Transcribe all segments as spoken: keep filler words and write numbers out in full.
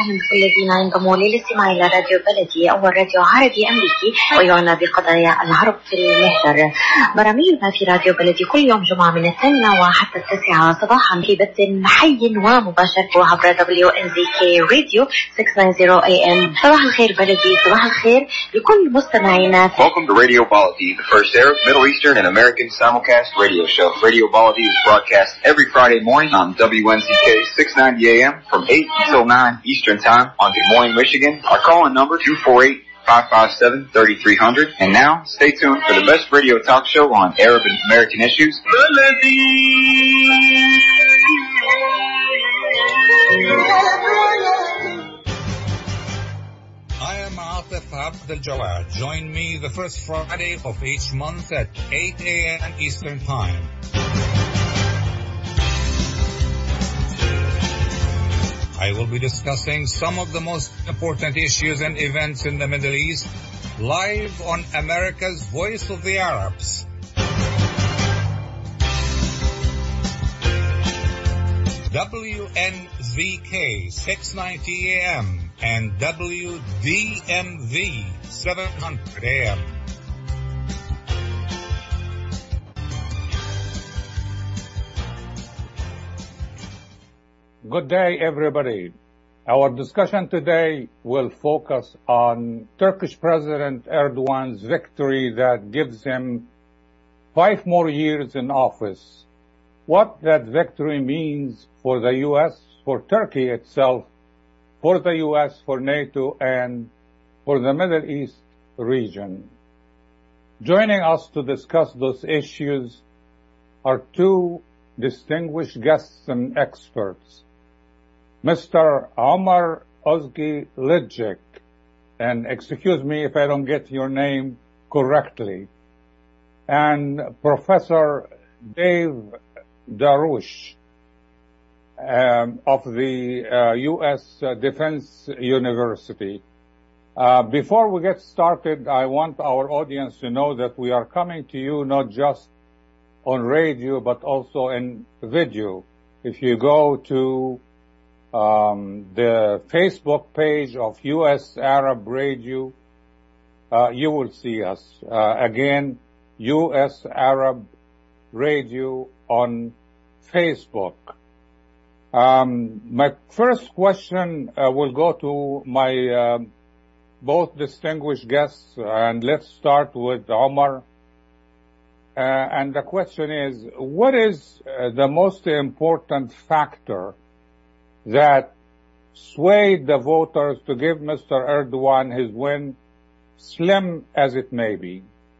وسهلا بكل الذين ينضموا للاستماع إلى راديو بلدي، أول راديو عربي أمريكي ويعنى بقضايا العرب في المهجر. برامجنا في راديو بلدي كل يوم جمعة من الثامنة وحتى التاسعة صباحا في بث حي ومباشر عبر دبليو إن زي كي راديو ستمية وتسعين إيه إم. صباح الخير بلدي، صباح الخير لكل مستمعينا. Welcome to Radio Baladi, the first Arab, Middle Eastern, and American simulcast radio show. Radio Baladi is broadcast every Friday morning on W N Z K six ninety A M from eight until nine Eastern Time on Des Moines, Michigan. Our call-in number two four eight, five five seven, three three zero zero. And now, stay tuned for the best radio talk show on Arab and American issues. I am Atif Abdel Jawad. Join me the first Friday of each month at eight A M Eastern Time. I will be discussing some of the most important issues and events in the Middle East, live on America's Voice of the Arabs. W N Z K six ninety A M and W D M V seven hundred A M. Good day, everybody. Our discussion today will focus on Turkish President Erdogan's victory that gives him five more years in office. What that victory means for the U S, for Turkey itself, for the U S, for NATO, and for the Middle East region. Joining us to discuss those issues are two distinguished guests and experts. Mister Omar Ozgi Lidjik, and excuse me if I don't get your name correctly, and Professor Dave Darush um, of the uh, U S Uh, Defense University. Uh, before we get started, I want our audience to know that we are coming to you not just on radio, but also in video. If you go to um, the Facebook page of U S Arab Radio, uh, you will see us. Uh, again, U S Arab Radio on Facebook. Um, my first question uh, will go to my uh, both distinguished guests, and let's start with Omar. Uh, and the question is, what is uh, the most important factor that swayed the voters to give Mister Erdogan his win, slim as it may be?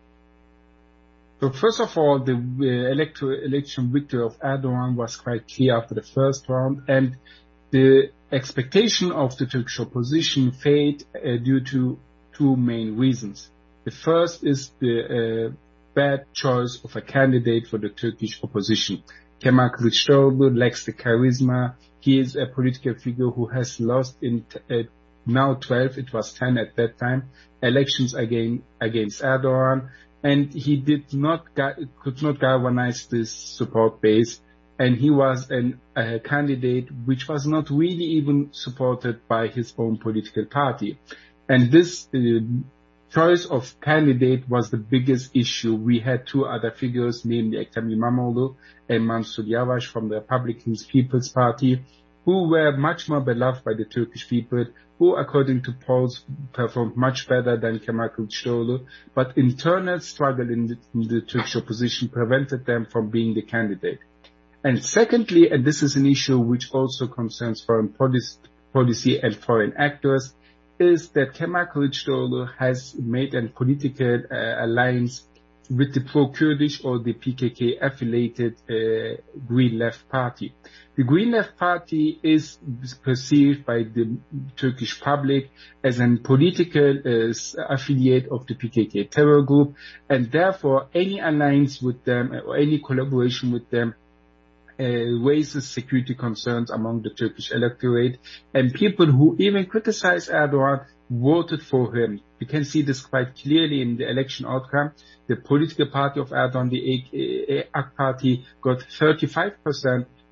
So first of all, the uh, electoral election victory of Erdogan was quite clear after the first round, and the expectation of the Turkish opposition failed uh, due to two main reasons. The first is the uh, bad choice of a candidate for the Turkish opposition. Kemal Kılıçdaroğlu lacks the charisma. He is a political figure who has lost in t- uh, now twelve, it was ten at that time, elections again against Erdogan, and he did not could not galvanize this support base, and he was an, a candidate which was not really even supported by his own political party. And this uh, choice of candidate was the biggest issue. We had two other figures, namely Ekrem İmamoğlu and Mansur Yavaş from the Republican People's Party, who were much more beloved by the Turkish people, who, according to polls, performed much better than Kemal Kılıçdaroğlu, but internal struggle in the, in the Turkish opposition prevented them from being the candidate. And secondly, and this is an issue which also concerns foreign policy, policy and foreign actors, is that Kemal Kılıçdaroğlu has made a political uh, alliance with the pro-Kurdish or the P K K-affiliated uh, Green Left Party. The Green Left Party is perceived by the Turkish public as a political uh, affiliate of the P K K terror group, and therefore any alliance with them or any collaboration with them uh, raises security concerns among the Turkish electorate, and people who even criticize Erdogan voted for him. You can see this quite clearly in the election outcome. The political party of Erdogan, the A K Party, got thirty-five percent,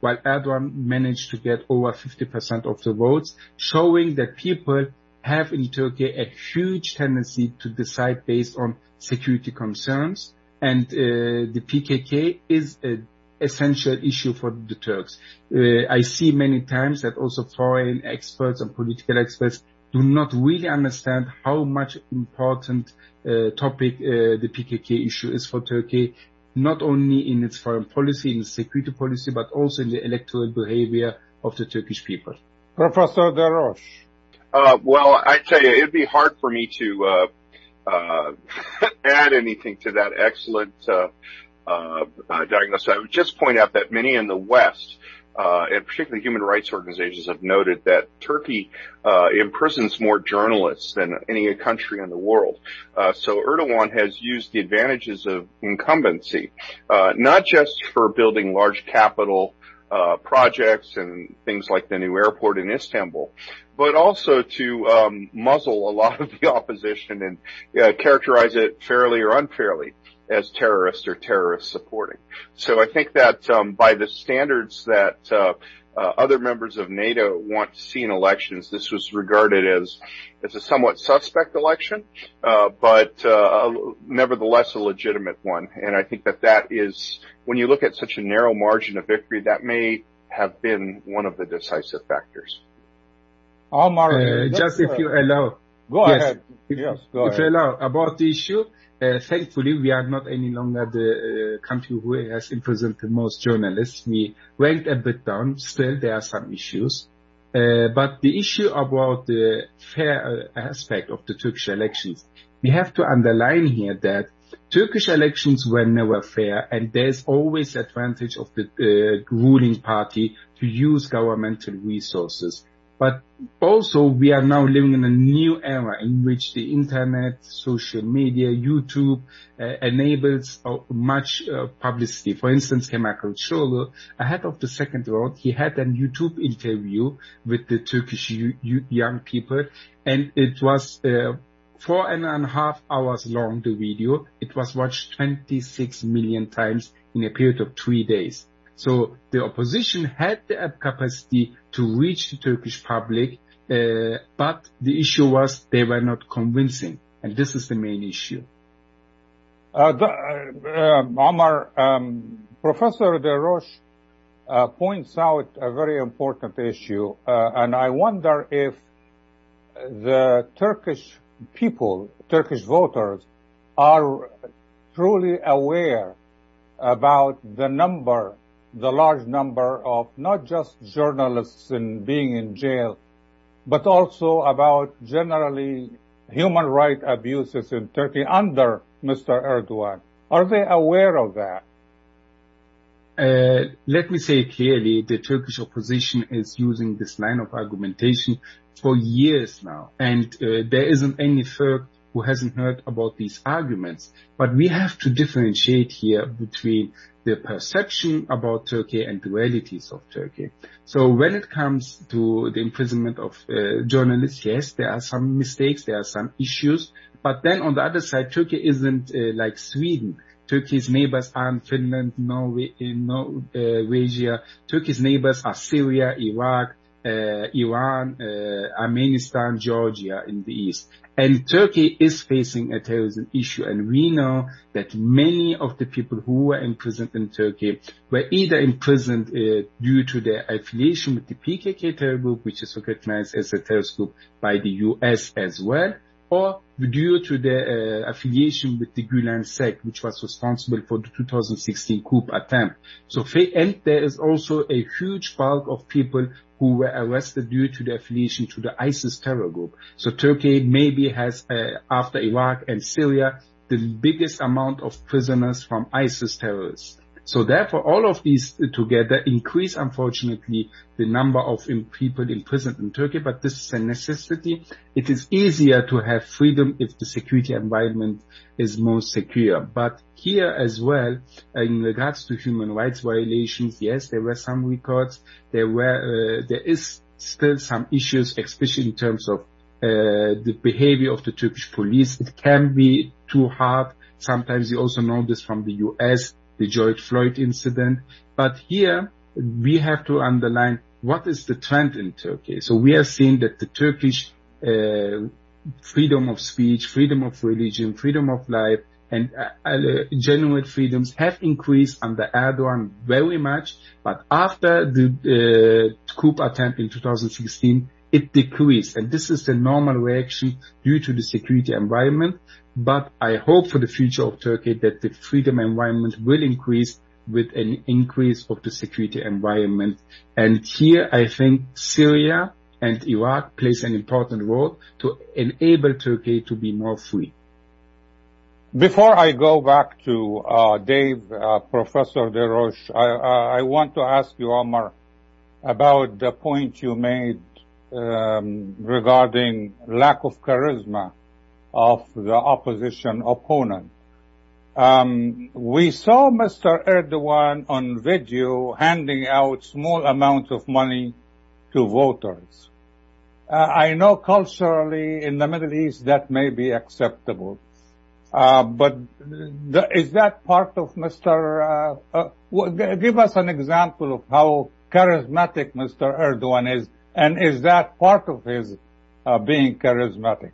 while Erdogan managed to get over fifty percent of the votes, showing that people have in Turkey a huge tendency to decide based on security concerns, and uh, the P K K is an essential issue for the Turks. Uh, I see many times that also foreign experts and political experts do not really understand how much important uh, topic uh, the P K K issue is for Turkey, not only in its foreign policy, in its security policy, but also in the electoral behavior of the Turkish people. Professor Darroch. Uh, well, I tell you, it'd be hard for me to uh, uh, add anything to that excellent uh, uh, uh, diagnosis. I would just point out that many in the West, uh, and particularly human rights organizations, have noted that Turkey uh, imprisons more journalists than any country in the world. Uh, so Erdogan has used the advantages of incumbency, uh, not just for building large capital uh, projects and things like the new airport in Istanbul, but also to um, muzzle a lot of the opposition and uh, characterize it fairly or unfairly as terrorist or terrorist supporting. So I think that um, by the standards that uh, uh, other members of NATO want to see in elections, this was regarded as as a somewhat suspect election, uh, but uh, nevertheless a legitimate one. And I think that that is, when you look at such a narrow margin of victory, that may have been one of the decisive factors. Omar, uh, just if you allow. Go yes, ahead. If, yes, go if ahead. you allow, about the issue, uh, thankfully we are not any longer the uh, country who has imprisoned the most journalists. We ranked a bit down. Still, there are some issues. Uh, but the issue about the fair uh, aspect of the Turkish elections, we have to underline here that Turkish elections were never fair, and there's always advantage of the uh, ruling party to use governmental resources. But also we are now living in a new era in which the internet, social media, YouTube uh, enables uh, much uh, publicity. For instance, Kemal Kılıçdaroğlu, ahead of the second round, he had a YouTube interview with the Turkish young people, and it was uh, four and a half hours long, the video. It was watched twenty-six million times in a period of three days. So the opposition had the capacity to reach the Turkish public, uh, but the issue was they were not convincing, and this is the main issue. Uh, the, uh, Omar, um, Professor Darroch uh, points out a very important issue, uh, and I wonder if the Turkish people, Turkish voters, are truly aware about the number the large number of not just journalists in being in jail, but also about generally human rights abuses in Turkey under Mister Erdogan. Are they aware of that? Uh, let me say clearly, the Turkish opposition is using this line of argumentation for years now, and uh, there isn't any Turk who hasn't heard about these arguments. But we have to differentiate here between the perception about Turkey and the realities of Turkey. So when it comes to the imprisonment of uh, journalists, yes, there are some mistakes, there are some issues, but then on the other side, Turkey isn't uh, like Sweden. Turkey's neighbors aren't Finland, Norway, Norwegia. Turkey's neighbors are Syria, Iraq, uh, Iran, uh, Armenian, Georgia in the east. And Turkey is facing a terrorism issue, and we know that many of the people who were imprisoned in Turkey were either imprisoned uh, due to their affiliation with the P K K terror group, which is recognized as a terrorist group by the U S as well, or due to their uh, affiliation with the Gülen sect, which was responsible for the two thousand sixteen coup attempt. So, and there is also a huge bulk of people who were arrested due to the affiliation to the ISIS terror group. So Turkey maybe has, uh, after Iraq and Syria, the biggest amount of prisoners from ISIS terrorists. So therefore, all of these together increase, unfortunately, the number of people imprisoned in Turkey, but this is a necessity. It is easier to have freedom if the security environment is more secure. But here as well, in regards to human rights violations, yes, there were some records. There were, uh, there is still some issues, especially in terms of uh, the behavior of the Turkish police. It can be too hard. Sometimes you also know this from the U S, the George Floyd incident. But here, we have to underline what is the trend in Turkey. So we have seen that the Turkish uh, freedom of speech, freedom of religion, freedom of life, and uh, uh, genuine freedoms have increased under Erdogan very much. But after the uh, coup attempt in two thousand sixteen, it decreased. And this is the normal reaction due to the security environment. But I hope for the future of Turkey that the freedom environment will increase with an increase of the security environment. And here I think Syria and Iraq plays an important role to enable Turkey to be more free. Before I go back to uh, Dave, uh, Professor Desroches, I, uh, I want to ask you, Omar, about the point you made um, regarding lack of charisma of the opposition opponent. Um, we saw Mister Erdogan on video handing out small amounts of money to voters. Uh, I know culturally in the Middle East that may be acceptable. Uh, but the, is that part of Mister Uh, uh, give us an example of how charismatic Mister Erdogan is, and is that part of his uh, being charismatic?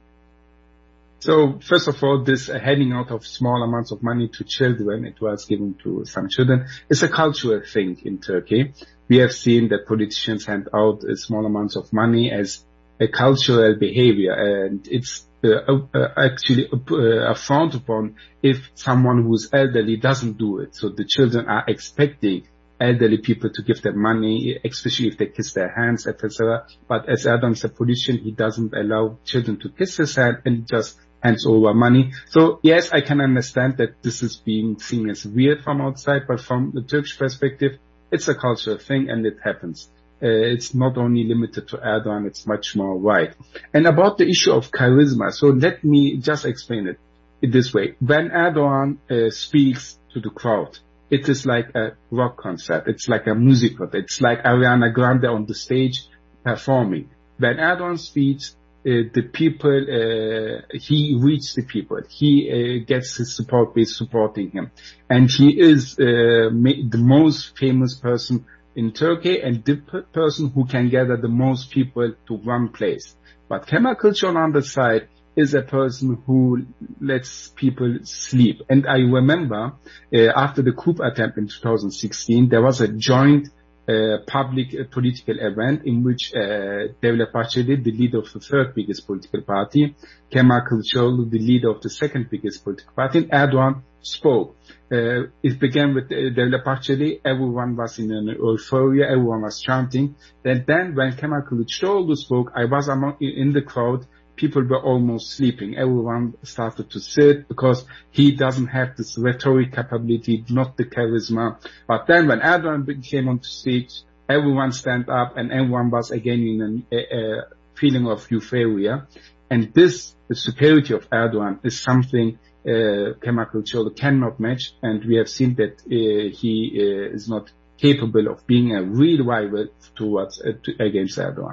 So first of all, this uh, handing out of small amounts of money to children, it was given to some children, is a cultural thing in Turkey. We have seen that politicians hand out uh, small amounts of money as a cultural behavior, and it's uh, uh, actually uh, frowned upon if someone who's elderly doesn't do it. So the children are expecting elderly people to give them money, especially if they kiss their hands, et cetera. But as Erdogan is a politician, he doesn't allow children to kiss his hand and just hands over money. So yes, I can understand that this is being seen as weird from outside, but from the Turkish perspective, it's a cultural thing and it happens. Uh, it's not only limited to Erdogan, it's much more wide. And about the issue of charisma, so let me just explain it in this way. When Erdogan uh, speaks to the crowd, it is like a rock concert. It's like a musical. It's like Ariana Grande on the stage performing. When Erdogan speaks, uh, the people, uh, he reaches the people. He uh, gets his support base supporting him. And he is uh, ma- the most famous person in Turkey and the p- person who can gather the most people to one place. But Kemal Kılıçdaroğlu on the side is a person who lets people sleep. And I remember uh, after the coup attempt in two thousand sixteen, there was a joint uh, public uh, political event in which uh, Devlet Bahçeli, the leader of the third biggest political party, Kemal Kılıçdaroğlu, the leader of the second biggest political party, and Erdogan spoke. Uh, it began with uh, Devlet Bahçeli. Everyone was in an euphoria. Everyone was chanting. And then when Kemal Kılıçdaroğlu spoke, I was among, in the crowd. People were almost sleeping. Everyone started to sit because he doesn't have this rhetoric capability, not the charisma. But then when Erdogan came on stage, everyone stand up and everyone was again in a, a feeling of euphoria. And this, the superiority of Erdogan is something uh, Kemal Kılıçdaroğlu cannot match. And we have seen that uh, he uh, is not capable of being a real rival towards uh, to, against Erdogan.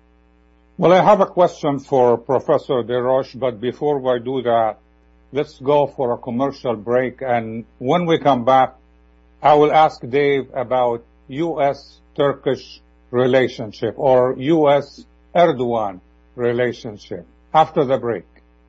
Well, I have a question for Professor Desroches, but before we do that, let's go for a commercial break. And when we come back, I will ask Dave about U S Turkish relationship or U S Erdogan relationship after the break.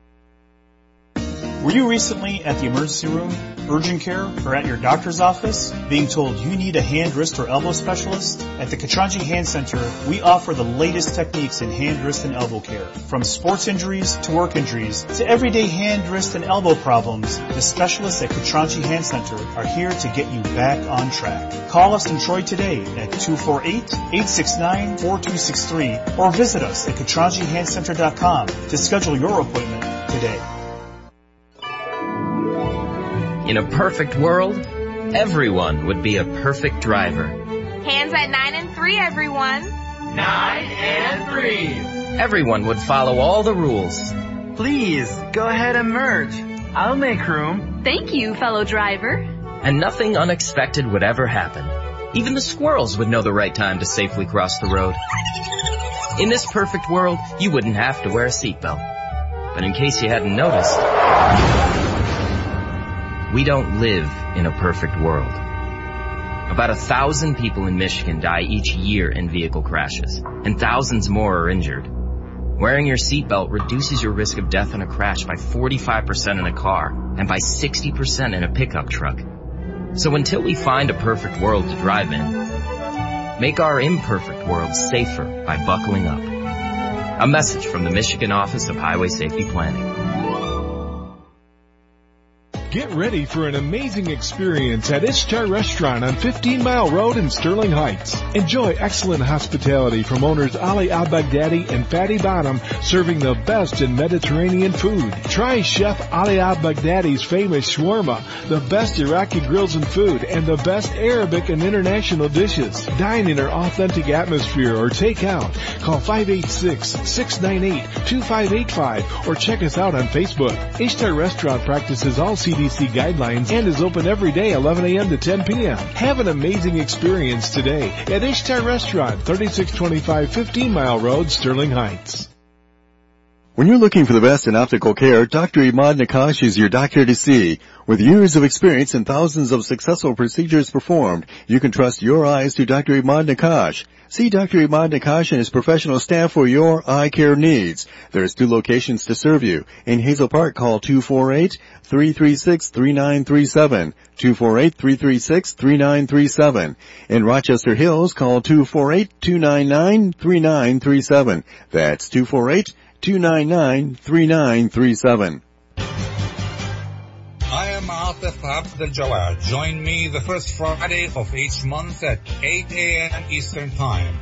Were you recently at the emergency room, urgent care, or at your doctor's office being told you need a hand, wrist, or elbow specialist? At the Katranji Hand Center, we offer the latest techniques in hand, wrist, and elbow care. From sports injuries to work injuries to everyday hand, wrist, and elbow problems, the specialists at Katranji Hand Center are here to get you back on track. Call us in Troy today at two four eight, eight six nine, four two six three or visit us at katranji hand center dot com to schedule your appointment today. In a perfect world, everyone would be a perfect driver. Hands at nine and three, everyone. Nine and three. Everyone would follow all the rules. Please, go ahead and merge. I'll make room. Thank you, fellow driver. And nothing unexpected would ever happen. Even the squirrels would know the right time to safely cross the road. In this perfect world, you wouldn't have to wear a seatbelt. But in case you hadn't noticed, we don't live in a perfect world. About a thousand people in Michigan die each year in vehicle crashes, and thousands more are injured. Wearing your seatbelt reduces your risk of death in a crash by forty-five percent in a car and by sixty percent in a pickup truck. So until we find a perfect world to drive in, make our imperfect world safer by buckling up. A message from the Michigan Office of Highway Safety Planning. Get ready for an amazing experience at Ishtar Restaurant on fifteen mile Road in Sterling Heights. Enjoy excellent hospitality from owners Ali Al-Baghdadi and Fatty Bottom, serving the best in Mediterranean food. Try Chef Ali Al-Baghdadi's famous shawarma, the best Iraqi grills and food, and the best Arabic and international dishes. Dine in our authentic atmosphere or take out. Call five eight six, six nine eight, two five eight five or check us out on Facebook. Ishtar Restaurant practices all C D C guidelines and is open every day eleven a.m. to ten p.m. Have an amazing experience today at Ishtar Restaurant, thirty-six twenty-five fifteen mile Road, Sterling Heights. When you're looking for the best in optical care, Doctor Imad Nakash is your doctor to see. With years of experience and thousands of successful procedures performed, you can trust your eyes to Doctor Imad Nakash. See Doctor Imad Nakash and his professional staff for your eye care needs. There's two locations to serve you. In Hazel Park, call two four eight, three three six, three nine three seven, two four eight, three three six, three nine three seven. In Rochester Hills, call two four eight, two nine nine, three nine three seven. That's two four eight, two nine nine, three nine three seven. I am Atif Abdel Jawad. Join me the first Friday of each month at eight a.m. Eastern Time.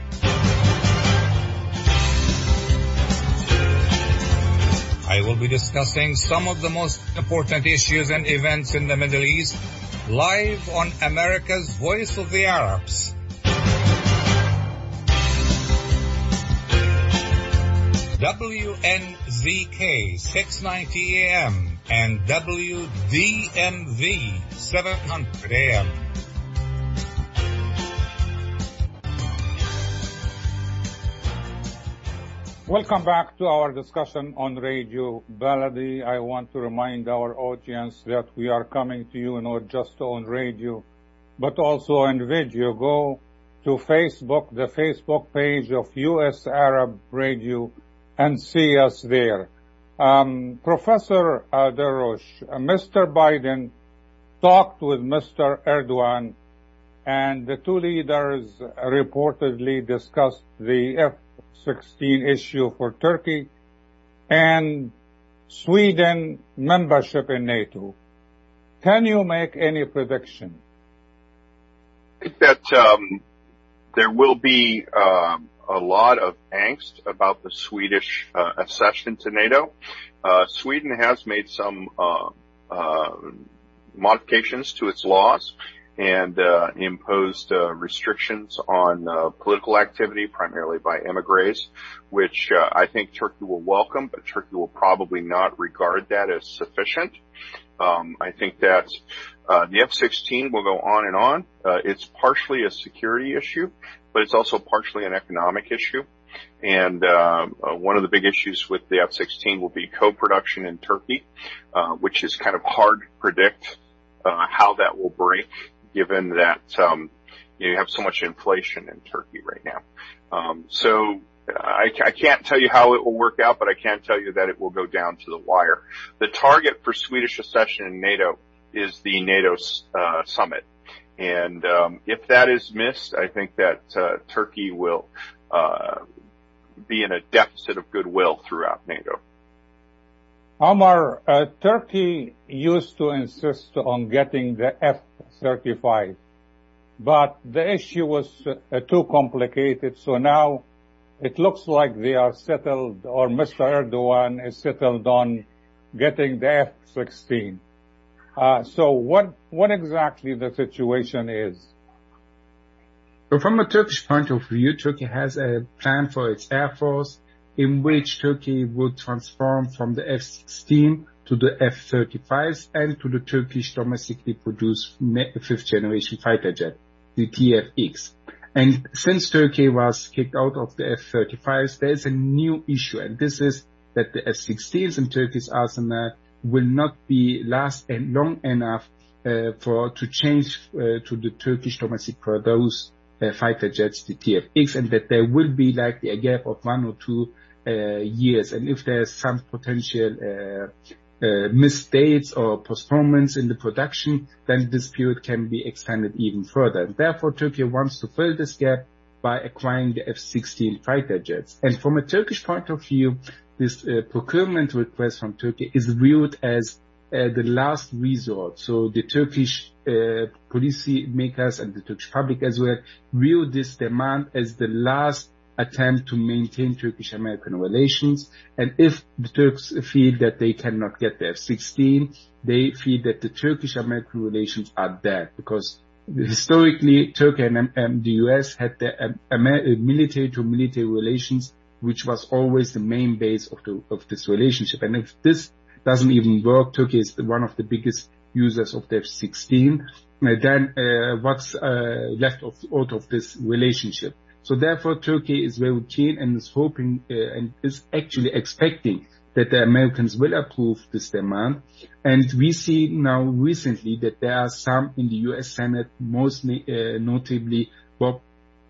I will be discussing some of the most important issues and events in the Middle East live on America's Voice of the Arabs. W N Z K six ninety A M and W D M V seven hundred A M. Welcome back to our discussion on Radio Baladi. I want to remind our audience that we are coming to you not just on radio, but also on video. Go to Facebook, the Facebook page of U S Arab Radio, and see us there. Um, Professor uh, Darush, uh, Mister Biden talked with Mister Erdogan, and the two leaders reportedly discussed the F sixteen issue for Turkey and Sweden membership in NATO. Can you make any prediction? I think that um, there will be um, a lot of angst about the Swedish uh, accession to NATO. Uh, Sweden has made some uh, uh, modifications to its laws and uh, imposed uh, restrictions on uh, political activity, primarily by emigres, which uh, I think Turkey will welcome, but Turkey will probably not regard that as sufficient. Um, I think that uh, the F sixteen will go on and on. Uh, it's partially a security issue, but it's also partially an economic issue. And uh, uh, one of the big issues with the F sixteen will be co-production in Turkey, uh, which is kind of hard to predict uh, how that will break, given that um, you know, you have so much inflation in Turkey right now. Um, so I, I can't tell you how it will work out, but I can tell you that it will go down to the wire. The target for Swedish accession in NATO is the NATO uh, summit. And um, if that is missed, I think that uh, Turkey will uh, be in a deficit of goodwill throughout NATO. Omar, uh, Turkey used to insist on getting the F thirty-five, but the issue was uh, too complicated, so now it looks like they are settled, or Mister Erdogan is settled on getting the F sixteen. Uh, so what, what exactly the situation is? So from a Turkish point of view, Turkey has a plan for its air force in which Turkey would transform from the F sixteen to the F thirty-fives and to the Turkish domestically produced fifth generation fighter jet, the T F X. And since Turkey was kicked out of the F thirty-fives, there is a new issue, and this is that the F sixteens in Turkey's arsenal will not be last and long enough uh, for to change uh, to the Turkish domestic produced uh, fighter jets, the T F X, and that there will be like a gap of one or two uh, years. And if there's some potential uh, uh, missed dates or postponements in the production, then this period can be extended even further. And therefore, Turkey wants to fill this gap by acquiring the F sixteen fighter jets. And from a Turkish point of view, this uh, procurement request from Turkey is viewed as uh, the last resort. So the Turkish uh, policy makers and the Turkish public as well view this demand as the last attempt to maintain Turkish-American relations. And if the Turks feel that they cannot get the F sixteen, they feel that the Turkish-American relations are dead, because historically, Turkey and um, the U S had the um, military-to-military relations, which was always the main base of the of this relationship. And if this doesn't even work, Turkey is one of the biggest users of the F sixteen. Uh, then uh, what's uh, left of out of this relationship? So therefore, Turkey is very keen and is hoping uh, and is actually expecting that the Americans will approve this demand. And we see now recently that there are some in the U S Senate, mostly uh, notably Bob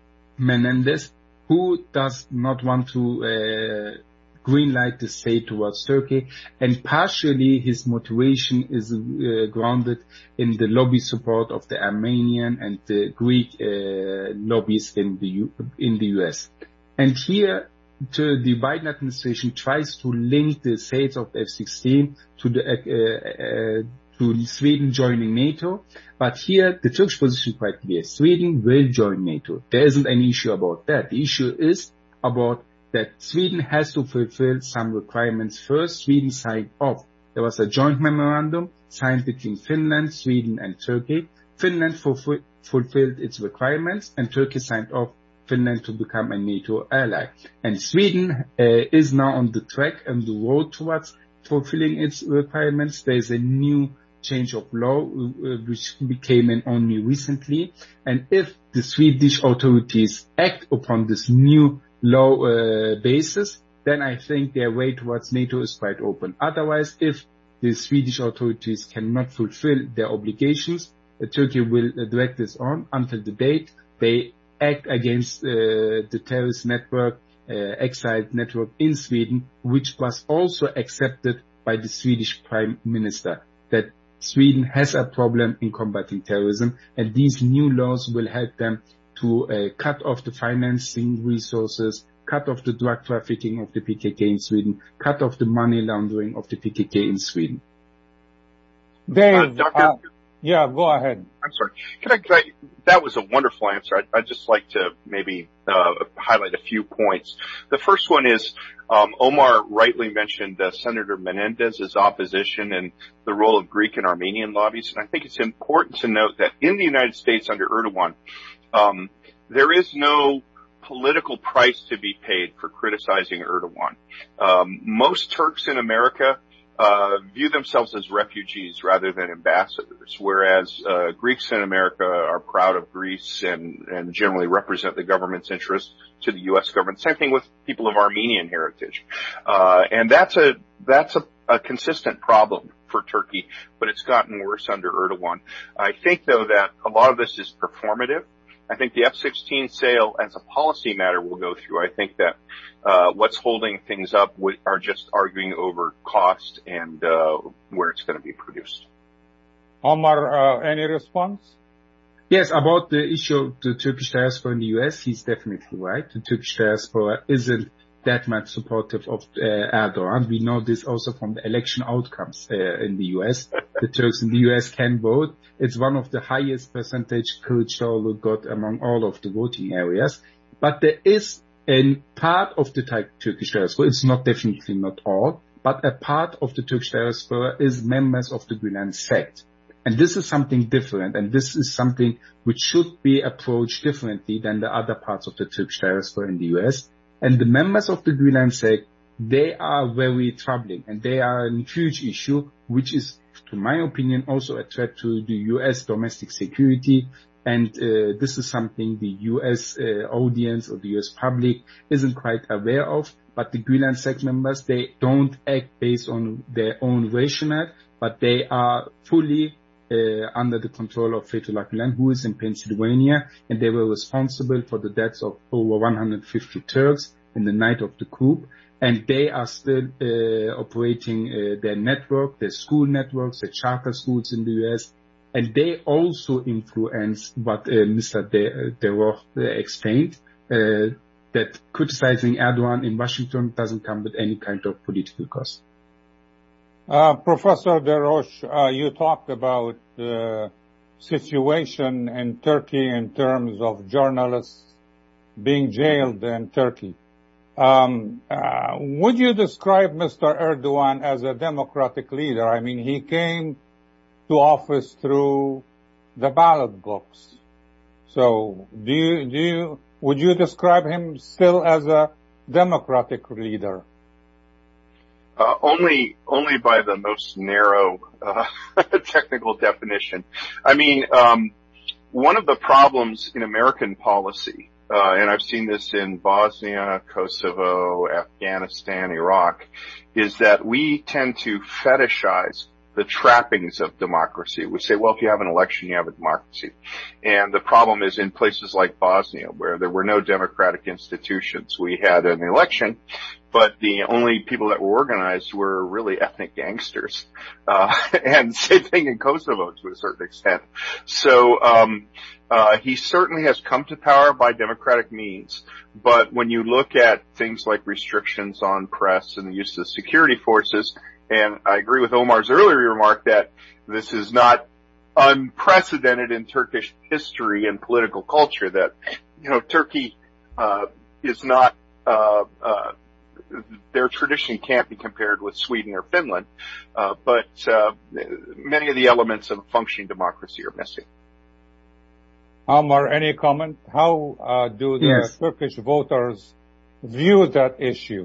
Menendez, who does not want to uh, greenlight the state towards Turkey. And partially his motivation is uh, grounded in the lobby support of the Armenian and the Greek uh, lobbies in the U- in the U S. And here, to the Biden administration tries to link the sales of the F sixteen to the uh, uh, to Sweden joining NATO, but here the Turkish position is quite clear. Sweden will join NATO. There isn't any issue about that. The issue is about that Sweden has to fulfill some requirements first. Sweden signed off. There was a joint memorandum signed between Finland, Sweden, and Turkey. Finland fulfill, fulfilled its requirements, and Turkey signed off Finland to become a NATO ally. And Sweden uh, is now on the track and the road towards fulfilling its requirements. There is a new change of law uh, which came in only recently. And if the Swedish authorities act upon this new law uh, basis, then I think their way towards NATO is quite open. Otherwise, if the Swedish authorities cannot fulfill their obligations, uh, Turkey will uh, drag this on until the date they act against uh, the terrorist network, uh, exiled network in Sweden, which was also accepted by the Swedish Prime Minister, that Sweden has a problem in combating terrorism, and these new laws will help them to uh, cut off the financing resources, cut off the drug trafficking of the P K K in Sweden, cut off the money laundering of the P K K in Sweden. Dave, uh, uh, yeah, go ahead. I'm sorry. Can I, can I, that was a wonderful answer. I'd, I'd just like to maybe uh, highlight a few points. The first one is um, Omar rightly mentioned uh, Senator Menendez's opposition and the role of Greek and Armenian lobbies. And I think it's important to note that in the United States under Erdogan, um, there is no political price to be paid for criticizing Erdogan. Um, most Turks in America Uh, view themselves as refugees rather than ambassadors, whereas uh, Greeks in America are proud of Greece and, and generally represent the government's interest to the U S government. Same thing with people of Armenian heritage, uh, and that's a that's a, a consistent problem for Turkey, but it's gotten worse under Erdogan. I think, though, that a lot of this is performative. I think the F sixteen sale, as a policy matter, will go through. I think that uh what's holding things up w- are just arguing over cost and uh where it's going to be produced. Omar, uh, any response? Yes, about the issue of the Turkish diaspora in the U S, he's definitely right. The Turkish diaspora isn't that much supportive of uh, Erdogan. We know this also from the election outcomes uh, in the U S. The Turks in the U S can vote. It's one of the highest percentage Kılıçdaroğlu got among all of the voting areas. But there is a part of the Turkish diaspora, it's not definitely not all, but a part of the Turkish diaspora is members of the Gülen sect. And this is something different, and this is something which should be approached differently than the other parts of the Turkish diaspora in the U S. And the members of the Gülen sect, they are very troubling, and they are a huge issue, which is, to my opinion, also a threat to the U S domestic security. And uh, this is something the U S uh, audience or the U S public isn't quite aware of. But the Gülen sect members, they don't act based on their own rationale, but they are fully uh, under the control of Fethullah Gulen, who is in Pennsylvania, and they were responsible for the deaths of over one hundred fifty Turks in the night of the coup. And they are still uh, operating uh, their network, their school networks, their charter schools in the U S, and they also influence what uh, Mister De, De Roch uh, explained, uh, that criticizing Erdogan in Washington doesn't come with any kind of political cost. Uh, Professor De Roche, uh, you talked about the situation in Turkey in terms of journalists being jailed in Turkey. Um, uh, would you describe Mister Erdogan as a democratic leader? I mean, he came to office through the ballot box. So, do you, do you, would you describe him still as a democratic leader? Uh, only, only by the most narrow, uh, technical definition. I mean, um, one of the problems in American policy, uh, and I've seen this in Bosnia, Kosovo, Afghanistan, Iraq, is that we tend to fetishize the trappings of democracy. We say, well, if you have an election, you have a democracy. And the problem is in places like Bosnia, where there were no democratic institutions. We had an election, but the only people that were organized were really ethnic gangsters. Uh, and same thing in Kosovo to a certain extent. So, um, uh, he certainly has come to power by democratic means. But when you look at things like restrictions on press and the use of security forces, and I agree with Omar's earlier remark that this is not unprecedented in Turkish history and political culture, that, you know, Turkey, uh, is not, uh, uh, their tradition can't be compared with Sweden or Finland, uh, but, uh, many of the elements of a functioning democracy are missing. Omar, any comment? How, uh, do the yes. Turkish voters view that issue?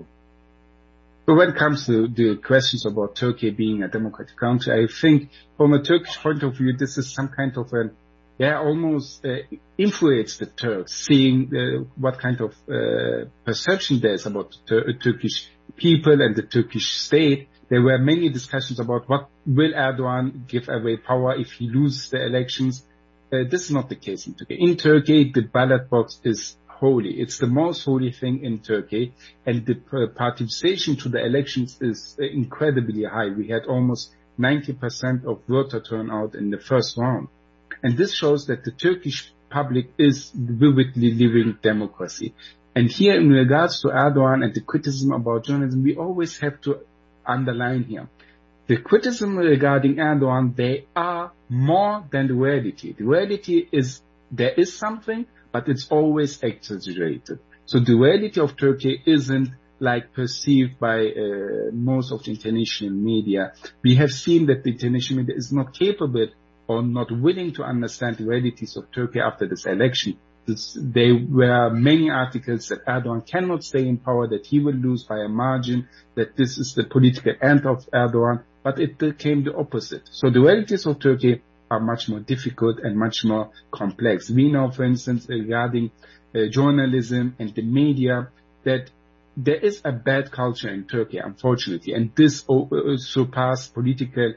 But when it comes to the questions about Turkey being a democratic country, I think from a Turkish point of view, this is some kind of an, yeah, almost uh, influence the Turks, seeing uh, what kind of uh, perception there is about the Tur- Turkish people and the Turkish state. There were many discussions about what will Erdogan give away power if he loses the elections. Uh, this is not the case in Turkey. In Turkey, the ballot box is holy. It's the most holy thing in Turkey, and the participation to the elections is incredibly high. We had almost ninety percent of voter turnout in the first round. And this shows that the Turkish public is vividly living democracy. And here in regards to Erdogan and the criticism about journalism, we always have to underline here. The criticism regarding Erdogan, they are more than the reality. The reality is there is something, but it's always exaggerated. So the reality of Turkey isn't like perceived by uh, most of the international media. We have seen that the international media is not capable or not willing to understand the realities of Turkey after this election. This, there were many articles that Erdogan cannot stay in power, that he will lose by a margin, that this is the political end of Erdogan, but it became the opposite. So the realities of Turkey are much more difficult and much more complex. We know, for instance, regarding uh, journalism and the media, that there is a bad culture in Turkey, unfortunately, and this uh, surpassed political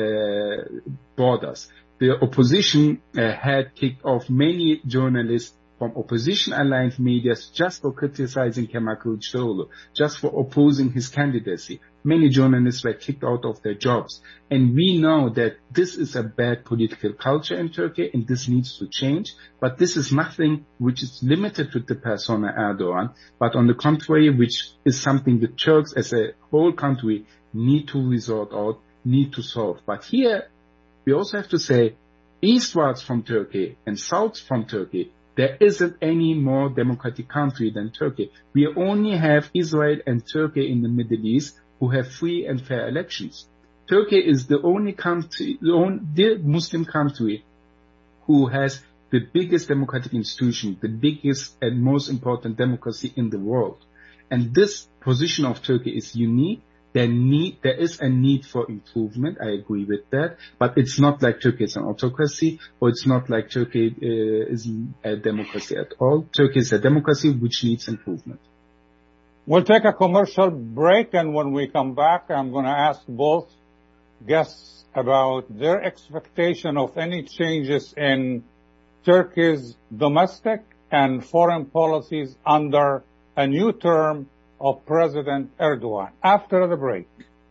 uh, borders. The opposition uh, had kicked off many journalists from opposition-aligned media just for criticizing Kemal Kılıçdaroğlu, just for opposing his candidacy. Many journalists were kicked out of their jobs. And we know that this is a bad political culture in Turkey, and this needs to change. But this is nothing which is limited to the persona Erdogan, but on the contrary, which is something the Turks as a whole country need to resort out, need to solve. But here, we also have to say, eastwards from Turkey and south from Turkey, there isn't any more democratic country than Turkey. We only have Israel and Turkey in the Middle East who have free and fair elections. Turkey is the only country, the, only, the Muslim country who has the biggest democratic institution, the biggest and most important democracy in the world. And this position of Turkey is unique. There need, there is a need for improvement. I agree with that. But it's not like Turkey is an autocracy, or it's not like Turkey uh, is a democracy at all. Turkey is a democracy which needs improvement. We'll take a commercial break, and when we come back, I'm going to ask both guests about their expectation of any changes in Turkey's domestic and foreign policies under a new term of President Erdogan. After the break.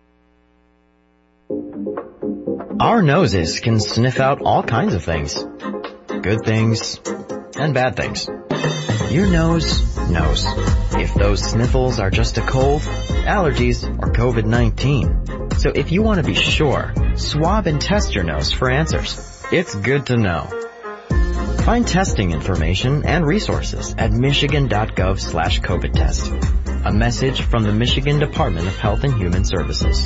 Our noses can sniff out all kinds of things. Good things and bad things. Your nose knows if those sniffles are just a cold, allergies, or COVID nineteen. So if you want to be sure, swab and test your nose for answers. It's good to know. Find testing information and resources at michigan.gov slash COVID test. A message from the Michigan Department of Health and Human Services.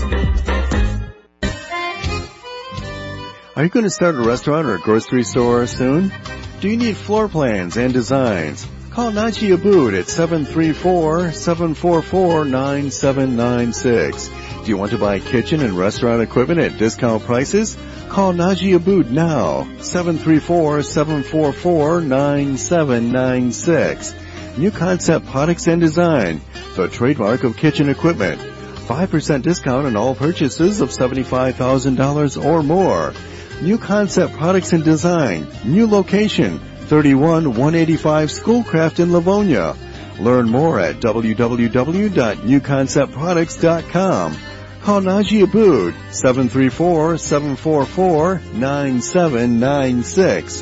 Are you going to start a restaurant or a grocery store soon? Do you need floor plans and designs? Call Naji Abood at seven three four, seven four four, nine seven nine six. Do you want to buy kitchen and restaurant equipment at discount prices? Call Naji Abood now, seven three four, seven four four, nine seven nine six. New Concept Products and Design, the trademark of kitchen equipment. five percent discount on all purchases of seventy-five thousand dollars or more. New Concept Products and Design, new location, thirty-one one eighty-five Schoolcraft in Livonia. Learn more at w w w dot new concept products dot com. Call Naji Abood, seven three four, seven four four, nine seven nine six.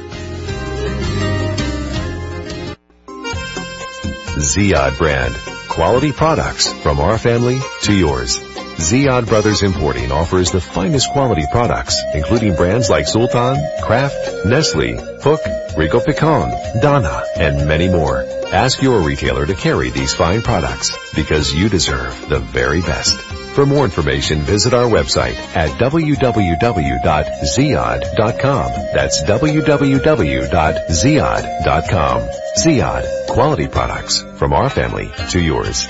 Ziyad brand. Quality products from our family to yours. Ziyad Brothers Importing offers the finest quality products, including brands like Sultan, Kraft, Nestle, Hook, Rico Picon, Donna, and many more. Ask your retailer to carry these fine products because you deserve the very best. For more information, visit our website at w w w dot ziyad dot com. That's w w w dot ziyad dot com. Ziyad, quality products from our family to yours.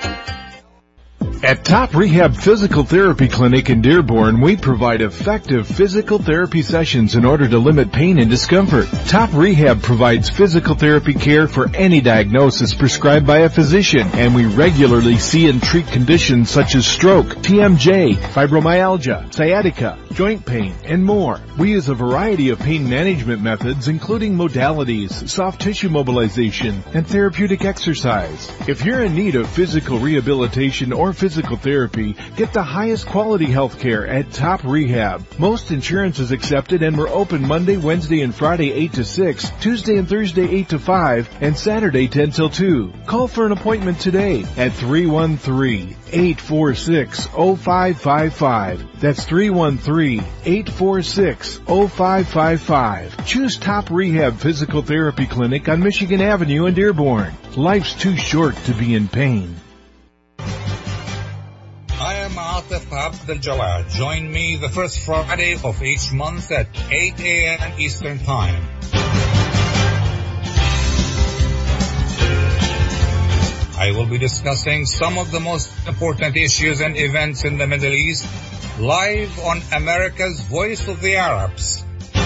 At Top Rehab Physical Therapy Clinic in Dearborn, we provide effective physical therapy sessions in order to limit pain and discomfort. Top Rehab provides physical therapy care for any diagnosis prescribed by a physician, and we regularly see and treat conditions such as stroke, T M J, fibromyalgia, sciatica, joint pain, and more. We use a variety of pain management methods, including modalities, soft tissue mobilization, and therapeutic exercise. If you're in need of physical rehabilitation or physical Physical therapy, get the highest quality health care at Top Rehab. Most insurance is accepted and we're open Monday, Wednesday, and Friday eight to six, Tuesday and Thursday eight to five, and Saturday ten till two. Call for an appointment today at three one three, eight four six, zero five five five. That's three one three, eight four six, zero five five five. Choose Top Rehab Physical Therapy Clinic on Michigan Avenue in Dearborn. Life's too short to be in pain. I am Atif Abdel Jawad. Join me the first Friday of each month at eight a.m. Eastern Time. I will be discussing some of the most important issues and events in the Middle East live on America's Voice of the Arabs.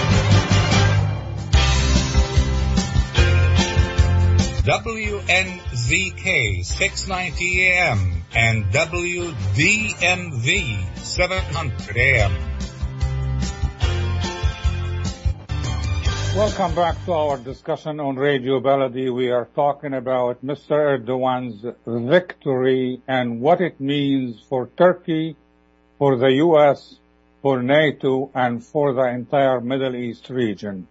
W N Z K six ninety A M and W D M V seven hundred A M. Welcome back to our discussion on Radio Baladi. We are talking about Mister Erdogan's victory and what it means for Turkey, for the U S, for NATO, and for the entire Middle East region.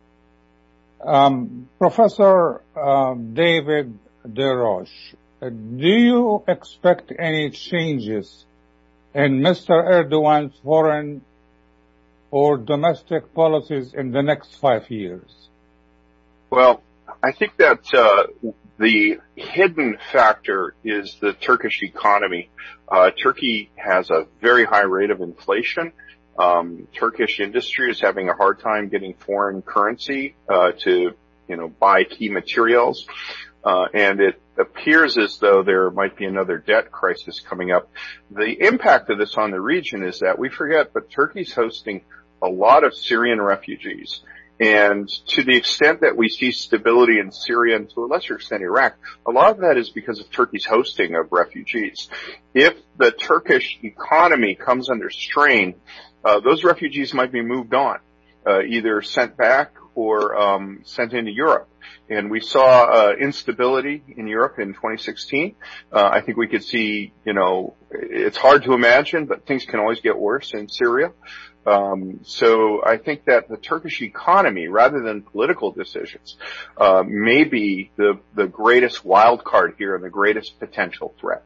Um, Professor uh, David DeRoche, uh, do you expect any changes in Mister Erdogan's foreign or domestic policies in the next five years? Well, I think that uh, the hidden factor is the Turkish economy. Uh, Turkey has a very high rate of inflation. Um, Turkish industry is having a hard time getting foreign currency uh, to, you know, buy key materials, uh, and it appears as though there might be another debt crisis coming up. The impact of this on the region is that we forget, but Turkey's hosting a lot of Syrian refugees, And to the extent that we see stability in Syria and to a lesser extent Iraq, a lot of that is because of Turkey's hosting of refugees. If the Turkish economy comes under strain, uh, those refugees might be moved on, uh, either sent back or um, sent into Europe. And we saw uh, instability in Europe in twenty sixteen. Uh, I think we could see, you know, it's hard to imagine, but things can always get worse in Syria. Um, so I think that the Turkish economy, rather than political decisions, uh, may be the, the greatest wild card here and the greatest potential threat.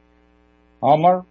Omar?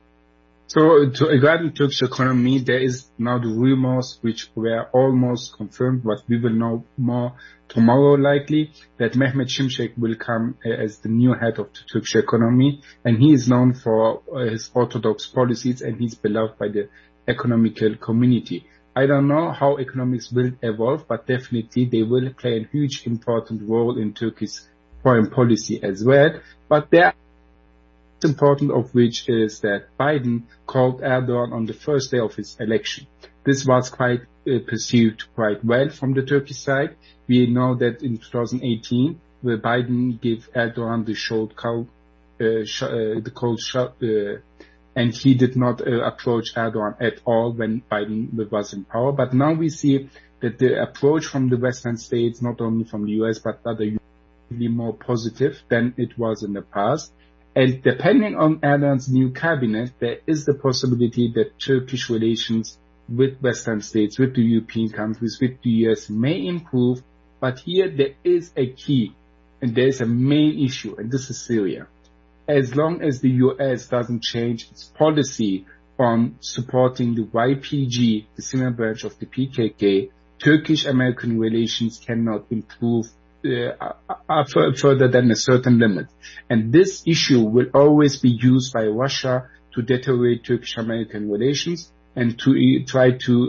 So, to, regarding Turkish economy, there is now the rumors which were almost confirmed, but we will know more tomorrow likely, that Mehmet Şimşek will come uh, as the new head of the Turkish economy, and he is known for uh, his orthodox policies, and he's beloved by the economical community. I don't know how economics will evolve, but definitely they will play a huge important role in Turkey's foreign policy as well. But there important of which is that Biden called Erdogan on the first day of his election. This was quite uh, perceived quite well from the Turkish side. We know that in two thousand eighteen, where Biden gave Erdogan the short cold, uh, sh- uh, the cold shot, uh, and he did not uh, approach Erdogan at all when Biden was in power. But now we see that the approach from the Western states, not only from the U S, but other usually more positive than it was in the past. And depending on Erdogan's new cabinet, there is the possibility that Turkish relations with Western states, with the European countries, with the U S may improve. But here there is a key, and there is a main issue, and this is Syria. As long as the U S doesn't change its policy on supporting the Y P G, the Syrian branch of the P K K, Turkish-American relations cannot improve uh, uh, further than a certain limit. And this issue will always be used by Russia to deteriorate Turkish-American relations and to uh, try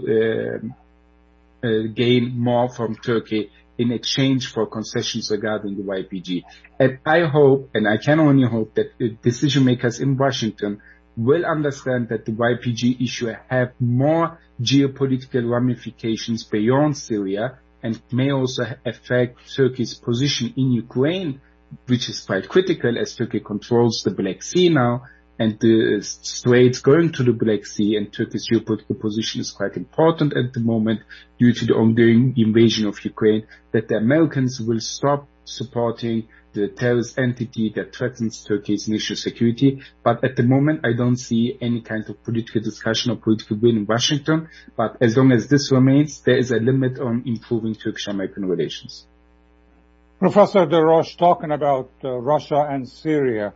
to uh, uh, gain more from Turkey in exchange for concessions regarding the Y P G. And I hope, and I can only hope, that the decision makers in Washington will understand that the Y P G issue have more geopolitical ramifications beyond Syria and may also affect Turkey's position in Ukraine, which is quite critical as Turkey controls the Black Sea now, and the straits going to the Black Sea, and Turkey's geopolitical position is quite important at the moment due to the ongoing invasion of Ukraine, that the Americans will stop supporting the terrorist entity that threatens Turkey's national security. But at the moment, I don't see any kind of political discussion or political will in Washington. But as long as this remains, there is a limit on improving Turkish-American relations. Professor Deroche, talking about uh, Russia and Syria.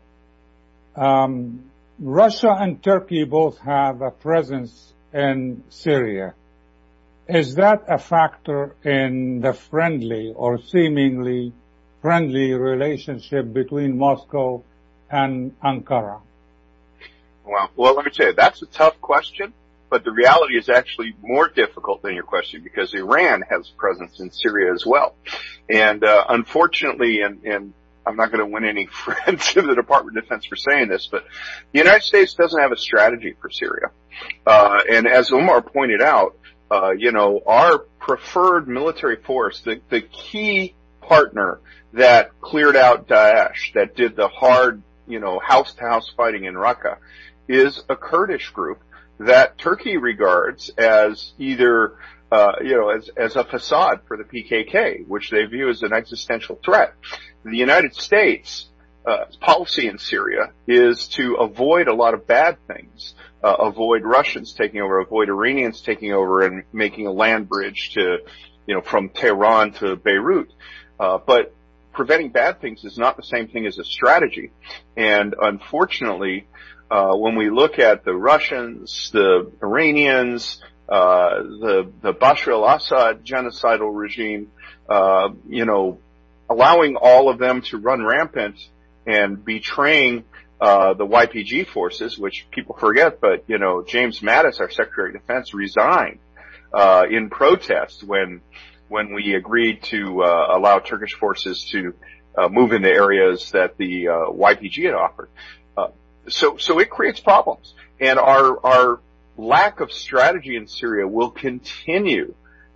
Um, Russia and Turkey both have a presence in Syria. Is that a factor in the friendly or seemingly friendly relationship between Moscow and Ankara? Well, well, let me tell you, that's a tough question, but the reality is actually more difficult than your question because Iran has presence in Syria as well. And uh, unfortunately, and, and I'm not going to win any friends in the Department of Defense for saying this, but the United States doesn't have a strategy for Syria. Uh, and as Omar pointed out, uh, you know, our preferred military force, the, the key partner that cleared out Daesh, that did the hard, you know, house-to-house fighting in Raqqa, is a Kurdish group that Turkey regards as either, uh, you know, as, as a facade for the P K K, which they view as an existential threat. The United States uh, policy in Syria is to avoid a lot of bad things, uh, avoid Russians taking over, avoid Iranians taking over and making a land bridge to, you know, from Tehran to Beirut. Uh, but preventing bad things is not the same thing as a strategy. And unfortunately, uh, when we look at the Russians, the Iranians, uh, the, the Bashar al-Assad genocidal regime, uh, you know, allowing all of them to run rampant and betraying, uh, the Y P G forces, which people forget, but, you know, James Mattis, our Secretary of Defense, resigned, uh, in protest when, when we agreed to uh, allow Turkish forces to uh, move into areas that the uh, Y P G had offered. Uh, so, so it creates problems, and our our lack of strategy in Syria will continue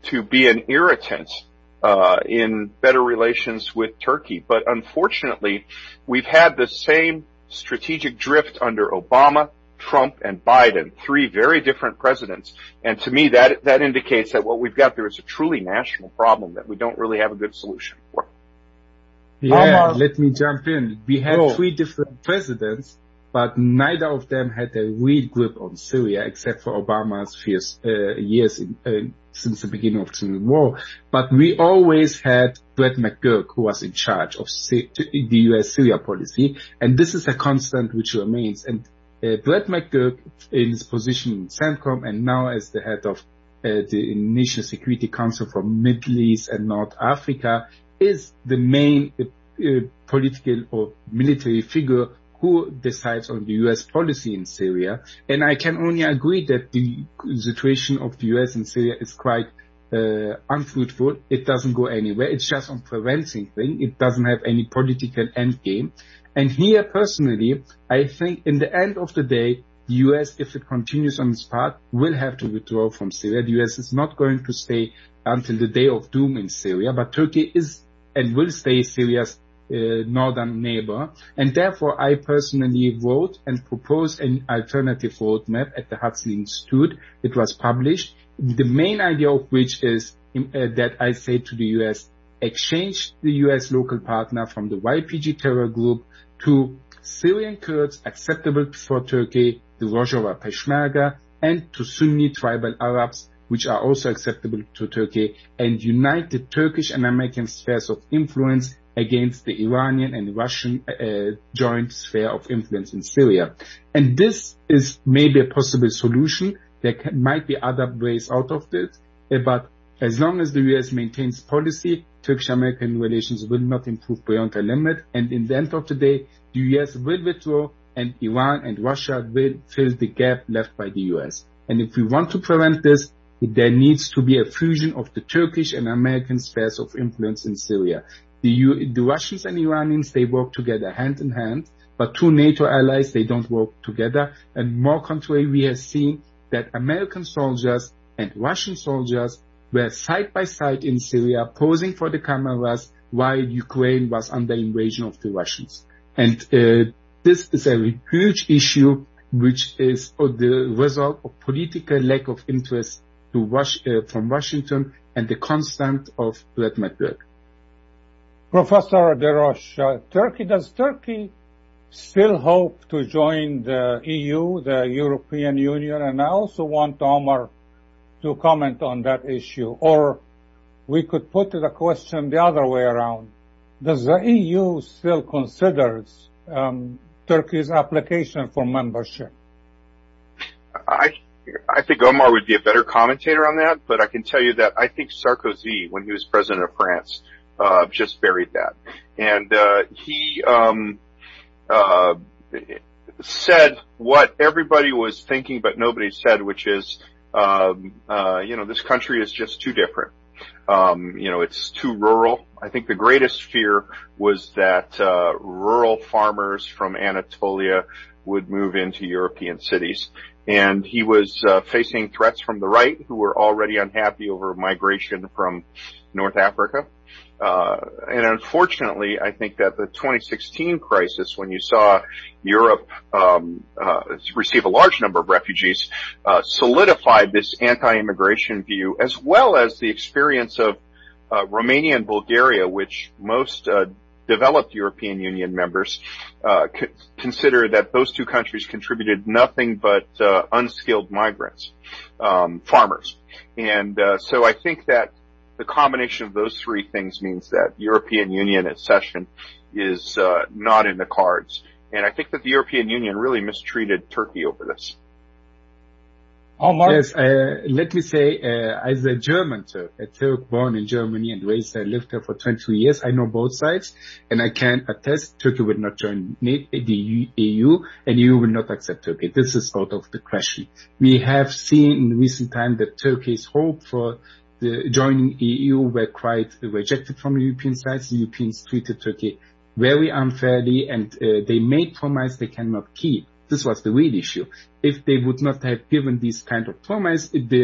to be an irritant uh, in better relations with Turkey. But unfortunately, we've had the same strategic drift under Obama, Trump, and Biden, three very different presidents. And to me, that that indicates that what we've got there is a truly national problem that we don't really have a good solution for. Yeah, um, let me jump in. We had oh. three different presidents, but neither of them had a real grip on Syria, except for Obama's first uh, years in, uh, since the beginning of the war. But we always had Brett McGurk, who was in charge of the U S Syria policy, and this is a constant which remains. And uh, Brett McGurk, in his position in CENTCOM and now as the head of uh, the National Security Council for Middle East and North Africa, is the main uh, uh, political or military figure who decides on the U S policy in Syria. And I can only agree that the situation of the U S in Syria is quite uh, unfruitful. It doesn't go anywhere. It's just on preventing things. It doesn't have any political end game. And here, personally, I think in the end of the day, the U S, if it continues on this path, will have to withdraw from Syria. The U S is not going to stay until the day of doom in Syria, but Turkey is and will stay Syria's uh, northern neighbor. And therefore, I personally wrote and proposed an alternative roadmap at the Hudson Institute. It was published. The main idea of which is uh, that I say to the U S, exchange the U S local partner from the Y P G terror group to Syrian Kurds acceptable for Turkey, the Rojava Peshmerga, and to Sunni tribal Arabs, which are also acceptable to Turkey, and unite the Turkish and American spheres of influence against the Iranian and Russian uh, joint sphere of influence in Syria. And this is maybe a possible solution. There can, might be other ways out of this, uh, but as long as the U S maintains policy, Turkish-American relations will not improve beyond a limit, and in the end of the day, the U S will withdraw, and Iran and Russia will fill the gap left by the U S. And if we want to prevent this, there needs to be a fusion of the Turkish and American spheres of influence in Syria. The, U- the Russians and Iranians, they work together hand in hand, but two NATO allies, they don't work together. And more contrary, we have seen that American soldiers and Russian soldiers were side by side in Syria, posing for the cameras while Ukraine was under invasion of the Russians. And uh, this is a huge issue, which is uh, the result of political lack of interest to Wash, uh, from Washington and the constant of Brett McGurk. Professor Deroche, uh, Turkey, does Turkey still hope to join the E U, the European Union? And I also want Omar to comment on that issue. Or we could put the question the other way around. Does the E U still consider um, Turkey's application for membership? I I think Omar would be a better commentator on that, but I can tell you that I think Sarkozy, when he was president of France, uh, just buried that. And, uh, he, um, uh, said what everybody was thinking, but nobody said, which is, um, uh, you know, this country is just too different. Um, you know, it's too rural. I think the greatest fear was that, uh, rural farmers from Anatolia would move into European cities. And he was uh, facing threats from the right, who were already unhappy over migration from North Africa. Uh, and unfortunately, I think that the twenty sixteen crisis, when you saw Europe um, uh, receive a large number of refugees, uh, solidified this anti-immigration view, as well as the experience of uh, Romania and Bulgaria, which most uh, developed European Union members uh, c- consider that those two countries contributed nothing but uh, unskilled migrants, um, farmers. And uh, so I think that the combination of those three things means that European Union accession is uh, not in the cards. And I think that the European Union really mistreated Turkey over this. Omar? Yes, uh, let me say, uh, as a German Turk, a Turk born in Germany and raised there, lived there for twenty years, I know both sides, and I can attest Turkey will not join the E U, and E U will not accept Turkey. This is out of the question. We have seen in recent time that Turkey's hope for the joining E U were quite rejected from the European side. The Europeans treated Turkey very unfairly, and uh, they made promises they cannot keep. This was the real issue. If they would not have given these kind of promise, the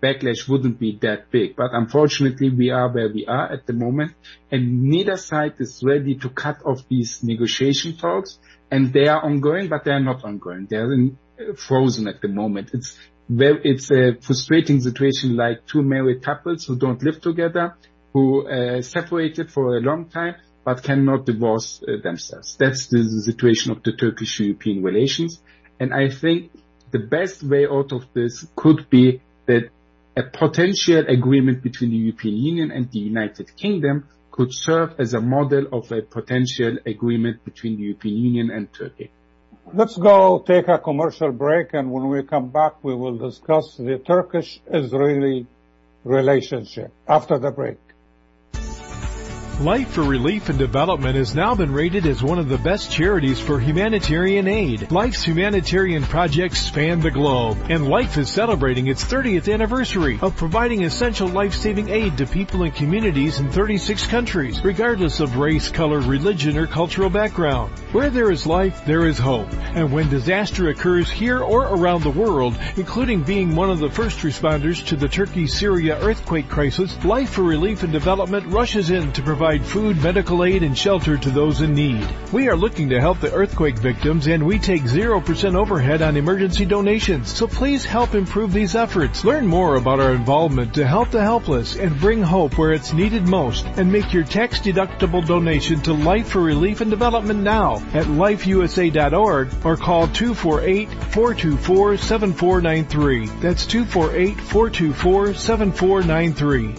backlash wouldn't be that big. But unfortunately, we are where we are at the moment, and neither side is ready to cut off these negotiation talks, and they are ongoing, but they are not ongoing. They are in, uh, frozen at the moment. It's very, it's a frustrating situation, like two married couples who don't live together, who uh, separated for a long time, but cannot divorce uh, themselves. That's the, the situation of the Turkish-European relations. And I think the best way out of this could be that a potential agreement between the European Union and the United Kingdom could serve as a model of a potential agreement between the European Union and Turkey. Let's go take a commercial break, and when we come back, we will discuss the Turkish-Israeli relationship after the break. Life for Relief and Development has now been rated as one of the best charities for humanitarian aid. Life's humanitarian projects span the globe, and Life is celebrating its thirtieth anniversary of providing essential life-saving aid to people and communities in thirty-six countries, regardless of race, color, religion, or cultural background. Where there is life, there is hope. And when disaster occurs here or around the world, including being one of the first responders to the Turkey-Syria earthquake crisis, Life for Relief and Development rushes in to provide food, medical aid, and shelter to those in need. We are looking to help the earthquake victims, and we take zero percent overhead on emergency donations. So please help improve these efforts. Learn more about our involvement to help the helpless and bring hope where it's needed most, and make your tax-deductible donation to Life for Relief and Development now at life u s a dot org or call two four eight, four two four, seven four nine three. That's two four eight, four two four, seven four nine three.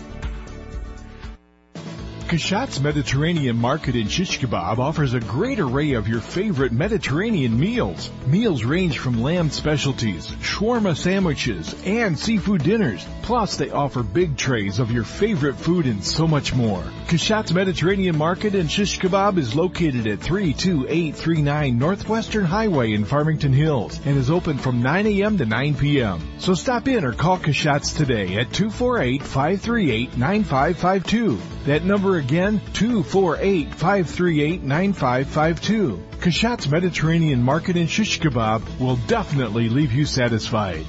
Kashat's Mediterranean Market in Shish Kebab offers a great array of your favorite Mediterranean meals. Meals range from lamb specialties, shawarma sandwiches, and seafood dinners. Plus, they offer big trays of your favorite food and so much more. Kashat's Mediterranean Market in Shish Kebab is located at three two eight three nine Northwestern Highway in Farmington Hills and is open from nine a.m. to nine p.m. So stop in or call Kashat's today at two four eight, five three eight, nine five five two. That number again, two four eight, five three eight, nine five five two. Kashat's Mediterranean Market in Shish Kebab will definitely leave you satisfied.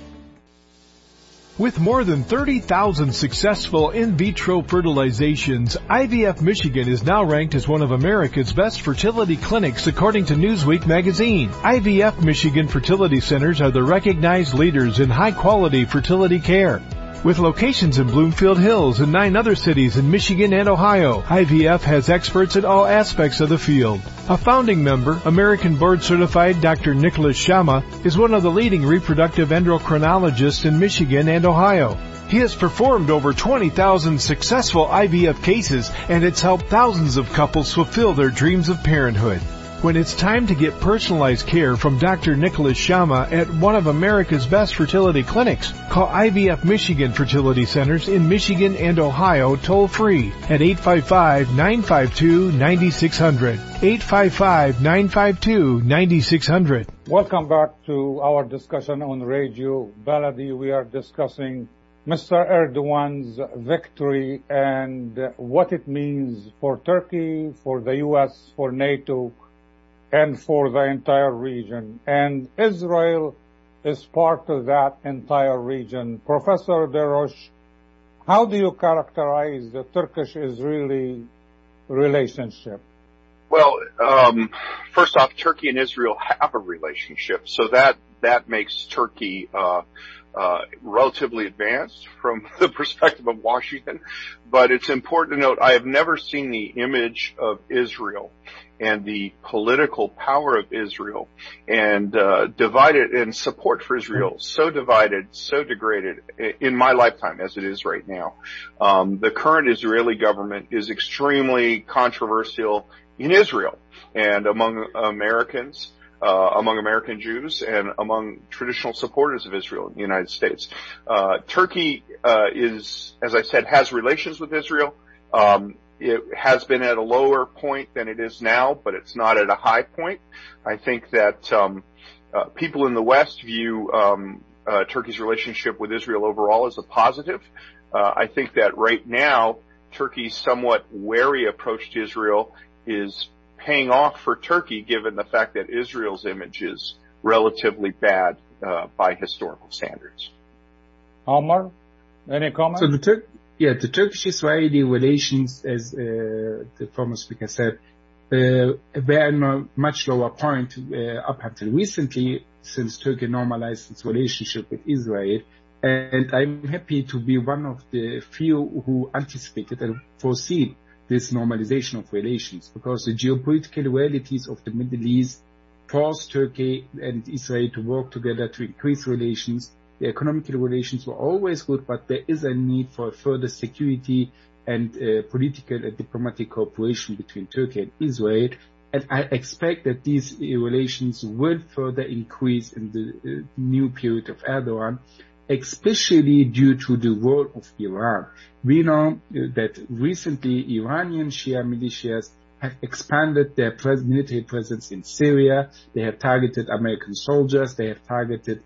With more than thirty thousand successful in vitro fertilizations, I V F Michigan is now ranked as one of America's best fertility clinics according to Newsweek magazine. I V F Michigan fertility centers are the recognized leaders in high-quality fertility care. With locations in Bloomfield Hills and nine other cities in Michigan and Ohio, I V F has experts in all aspects of the field. A founding member, American board-certified Doctor Nicholas Shama, is one of the leading reproductive endocrinologists in Michigan and Ohio. He has performed over twenty thousand successful I V F cases, and it's helped thousands of couples fulfill their dreams of parenthood. When it's time to get personalized care from Doctor Nicholas Shama at one of America's best fertility clinics, call I V F Michigan Fertility Centers in Michigan and Ohio toll-free at eight five five, nine five two, nine six zero zero. eight five five, nine five two, nine six zero zero. Welcome back to our discussion on Radio Baladi. We are discussing Mister Erdogan's victory and what it means for Turkey, for the U S, for NATO, and for the entire region. And Israel is part of that entire region. Professor Derosh, how do you characterize the Turkish-Israeli relationship? Well, um, first off, Turkey and Israel have a relationship, so that that makes Turkey uh, uh, relatively advanced from the perspective of Washington. But it's important to note, I have never seen the image of Israel and the political power of Israel and uh, divided and support for Israel so divided, so degraded in my lifetime as it is right now. Um, the current Israeli government is extremely controversial in Israel and among Americans, uh, among American Jews and among traditional supporters of Israel in the United States. Uh, Turkey, uh, is, as I said, has relations with Israel. Um, It has been at a lower point than it is now, but it's not at a high point. I think that um, uh, people in the West view um, uh, Turkey's relationship with Israel overall as a positive. Uh, I think that right now, Turkey's somewhat wary approach to Israel is paying off for Turkey, given the fact that Israel's image is relatively bad uh, by historical standards. Omar? Any comment? So the Tur- yeah, the Turkish-Israeli relations, as uh, the former speaker said, uh, were on a much lower point uh, up until recently, since Turkey normalized its relationship with Israel. And I'm happy to be one of the few who anticipated and foreseen this normalization of relations, because the geopolitical realities of the Middle East forced Turkey and Israel to work together to increase relations. The economic relations were always good, but there is a need for further security and uh, political and diplomatic cooperation between Turkey and Israel. And I expect that these relations will further increase in the uh, new period of Erdogan, especially due to the role of Iran. We know that recently Iranian Shia militias have expanded their pres- military presence in Syria. They have targeted American soldiers. They have targeted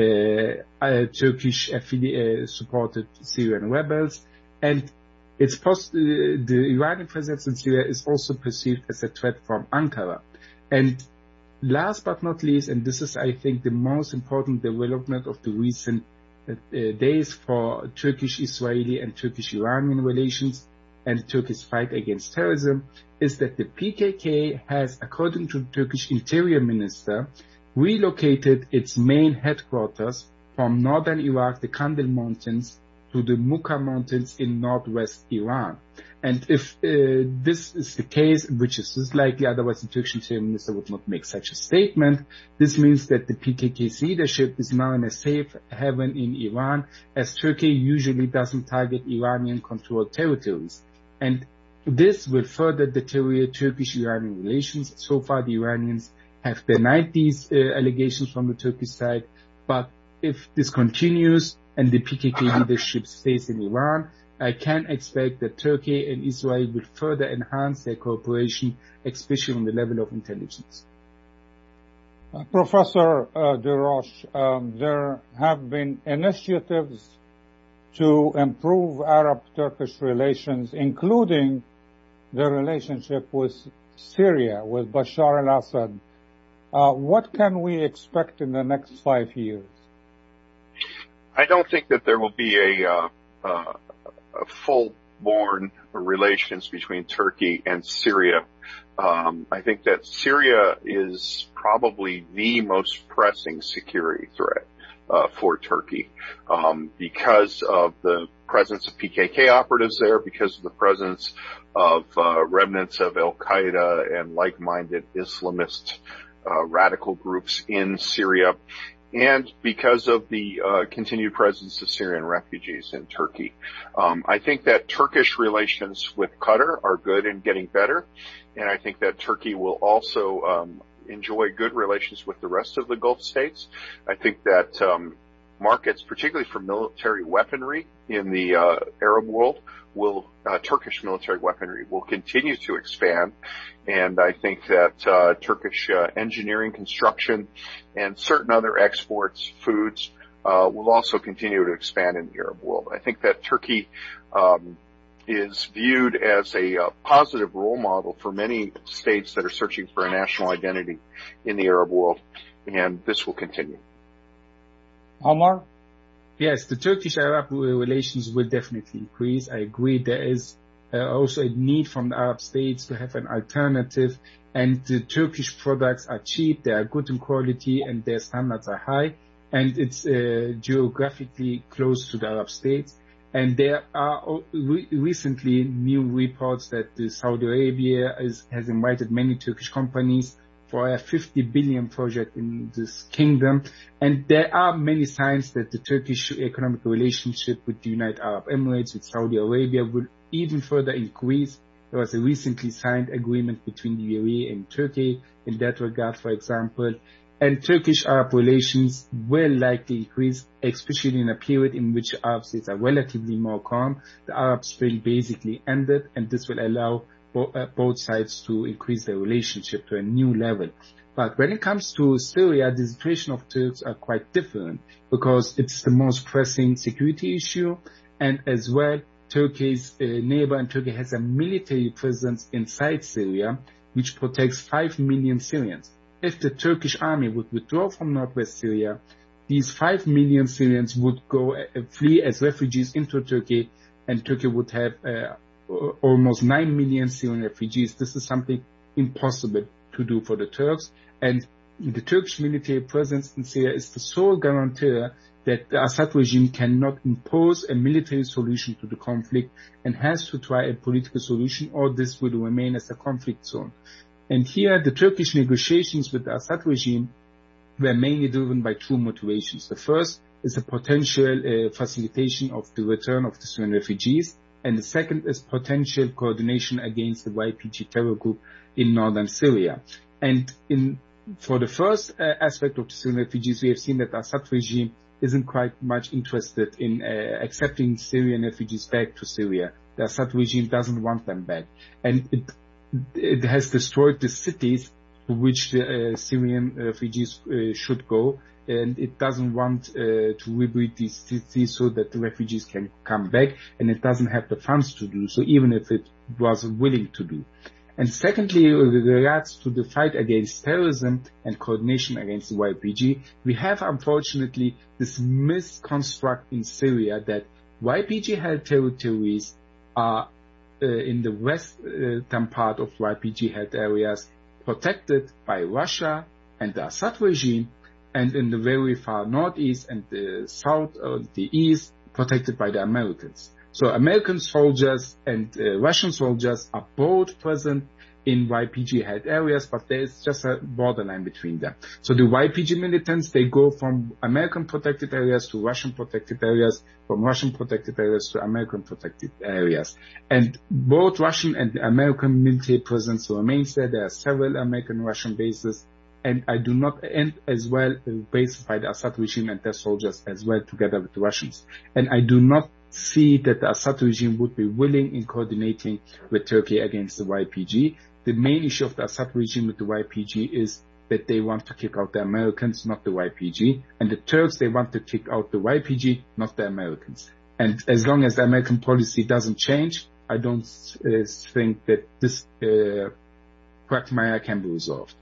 uh, uh, Turkish affili- uh, supported Syrian rebels. And it's post- uh, the Iranian presence in Syria is also perceived as a threat from Ankara. And last but not least, and this is, I think, the most important development of the recent uh, days for Turkish-Israeli and Turkish-Iranian relations and Turkey's fight against terrorism, is that the P K K has, according to the Turkish Interior Minister, relocated its main headquarters from northern Iraq, the Kandil Mountains, to the Muka Mountains in northwest Iran. And if uh, this is the case, which is likely, otherwise the Turkish Interior Minister would not make such a statement, this means that the P K K's leadership is now in a safe haven in Iran, as Turkey usually doesn't target Iranian-controlled territories. And this will further deteriorate Turkish-Iranian relations. So far, the Iranians have denied these uh, allegations from the Turkish side. But if this continues and the P K K leadership stays in Iran, I can expect that Turkey and Israel will further enhance their cooperation, especially on the level of intelligence. Uh, Professor uh, Deroche, um, there have been initiatives to improve Arab-Turkish relations, including the relationship with Syria, with Bashar al-Assad. Uh, what can we expect in the next five years? I don't think that there will be a, uh, uh, a full-born relations between Turkey and Syria. Um, I think that Syria is probably the most pressing security threat uh, for Turkey um, because of the presence of P K K operatives there, because of the presence of uh, remnants of Al-Qaeda and like-minded Islamist uh, radical groups in Syria, and because of the uh, continued presence of Syrian refugees in Turkey. Um, I think that Turkish relations with Qatar are good and getting better, and I think that Turkey will also um, enjoy good relations with the rest of the Gulf states. I think that um, markets, particularly for military weaponry in the uh, Arab world, will uh, Turkish military weaponry will continue to expand, and I think that uh, Turkish uh, engineering, construction, and certain other exports, foods, uh, will also continue to expand in the Arab world. I think that Turkey um, is viewed as a uh, positive role model for many states that are searching for a national identity in the Arab world, and this will continue. Omar? Yes, the Turkish-Arab relations will definitely increase. I agree there is uh, also a need from the Arab states to have an alternative, and the Turkish products are cheap, they are good in quality, and their standards are high, and it's uh, geographically close to the Arab states. And there are re- recently new reports that the Saudi Arabia is, has invited many Turkish companies for a fifty billion project in this kingdom. And there are many signs that the Turkish economic relationship with the United Arab Emirates, with Saudi Arabia, will even further increase. There was a recently signed agreement between the U A E and Turkey in that regard, for example. And Turkish-Arab relations will likely increase, especially in a period in which Arab states are relatively more calm. The Arab Spring basically ended, and this will allow bo- uh, both sides to increase their relationship to a new level. But when it comes to Syria, the situation of Turks are quite different, because it's the most pressing security issue, and as well, Turkey's uh, neighbor, and Turkey has a military presence inside Syria, which protects five million Syrians. If the Turkish army would withdraw from northwest Syria, these five million Syrians would go uh, flee as refugees into Turkey, and Turkey would have uh, almost nine million Syrian refugees. This is something impossible to do for the Turks, and the Turkish military presence in Syria is the sole guarantor that the Assad regime cannot impose a military solution to the conflict and has to try a political solution, or this will remain as a conflict zone. And here the Turkish negotiations with the Assad regime were mainly driven by two motivations. The first is the potential uh, facilitation of the return of the Syrian refugees, and the second is potential coordination against the Y P G terror group in northern Syria. And in for the first uh, aspect of the Syrian refugees, we have seen that the Assad regime isn't quite much interested in uh, accepting Syrian refugees back to Syria. The Assad regime doesn't want them back, and it it has destroyed the cities to which the uh, Syrian refugees uh, should go, and it doesn't want uh, to rebuild these cities so that the refugees can come back, and it doesn't have the funds to do so, even if it was willing to do. And secondly, with regards to the fight against terrorism and coordination against the Y P G, we have unfortunately this misconstruct in Syria that Y P G-held territories are uh, in the western part of Y P G-held areas protected by Russia and the Assad regime, and in the very far northeast and the south or the east protected by the Americans. So American soldiers and uh, Russian soldiers are both present in Y P G-held areas, but there is just a borderline between them. So the Y P G militants, they go from American protected areas to Russian protected areas, from Russian protected areas to American protected areas. And both Russian and American military presence remains there. There are several American-Russian bases, and I do not end as well bases by the Assad regime and their soldiers as well together with the Russians. And I do not see that the Assad regime would be willing in coordinating with Turkey against the Y P G. The main issue of the Assad regime with the Y P G is that they want to kick out the Americans, not the Y P G. And the Turks, they want to kick out the Y P G, not the Americans. And as long as the American policy doesn't change, I don't uh, think that this uh, quagmire can be resolved.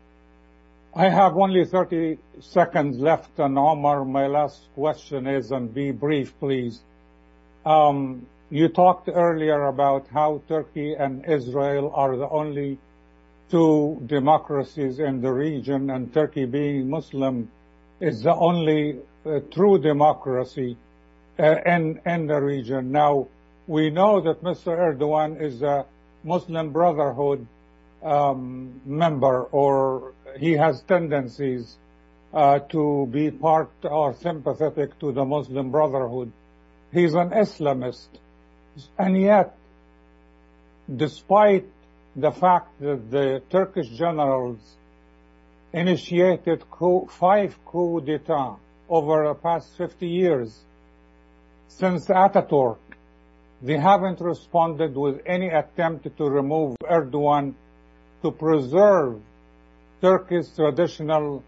I have only thirty seconds left, and Omar, my last question is, and be brief, please. Um, you talked earlier about how Turkey and Israel are the only two democracies in the region, and Turkey being Muslim is the only uh, true democracy uh, in, in the region. Now, we know that Mister Erdogan is a Muslim Brotherhood um, member, or he has tendencies uh, to be part or sympathetic to the Muslim Brotherhood. He's an Islamist, and yet, despite the fact that the Turkish generals initiated coup, five coups d'etat over the past fifty years, since Ataturk, they haven't responded with any attempt to remove Erdogan to preserve Turkey's traditional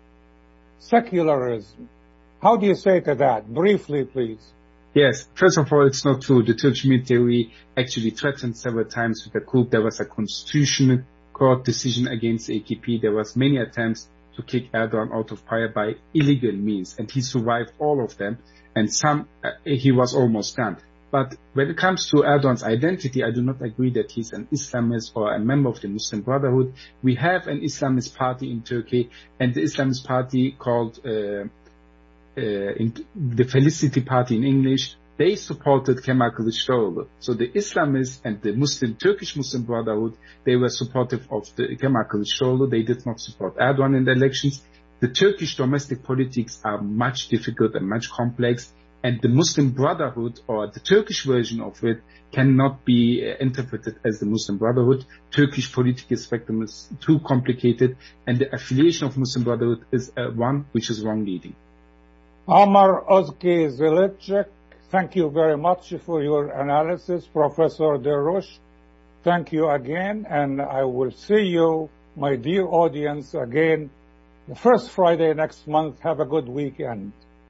secularism. How do you say to that? Briefly, please. Yes, first of all, it's not true. The Turkish military actually threatened several times with a coup. There was a constitutional court decision against A K P. There was many attempts to kick Erdogan out of power by illegal means, and he survived all of them, and some, uh, he was almost done. But when it comes to Erdogan's identity, I do not agree that he's an Islamist or a member of the Muslim Brotherhood. We have an Islamist party in Turkey, and the Islamist party called uh, uh, in the Felicity Party in English, they supported Kemal Kılıçdaroğlu. So the Islamists and the Muslim Turkish Muslim Brotherhood, they were supportive of the Kemal Kılıçdaroğlu. They did not support Erdogan in the elections. The Turkish domestic politics are much difficult and much complex, and the Muslim Brotherhood, or the Turkish version of it, cannot be uh, interpreted as the Muslim Brotherhood. Turkish political spectrum is too complicated, and the affiliation of Muslim Brotherhood is uh, one which is wrong leading. Omar Ozki Zelicek, thank you very much for your analysis. Professor Derouche, thank you again, and I will see you, my dear audience, again the first Friday next month. Have a good weekend.